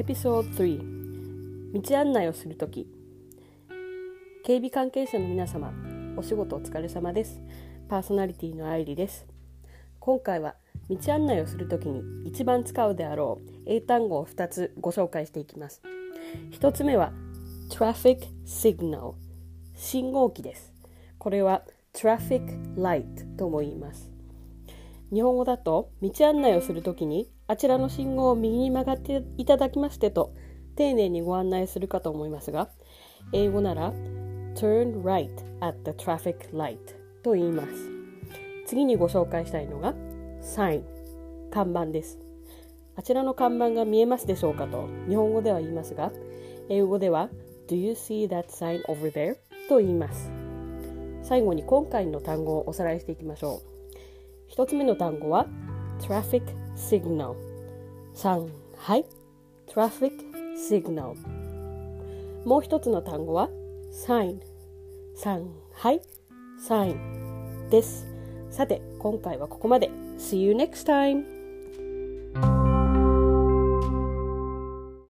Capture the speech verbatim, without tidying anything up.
エピソードスリー、道案内をするとき。警備関係者の皆様、お仕事お疲れ様です。パーソナリティの愛理です。今回は道案内をするときに一番使うであろう英単語をふたつご紹介していきます。ひとつめは Traffic Signal、 信号機です。これは Traffic Light とも言います。日本語だと道案内をするときにあちらの信号を右に曲がっていただきましてと丁寧にご案内するかと思いますが、英語なら Turn right at the traffic light と言います。次にご紹介したいのが Sign、 看板です。あちらの看板が見えますでしょうかと日本語では言いますが、英語では Do you see that sign over there? と言います。最後に今回の単語をおさらいしていきましょう。一つ目の単語は Traffic Signal、 上海 Traffic Signal。 もう一つの単語は Sign、 上海 Sign です。さて今回はここまで。 See you next time!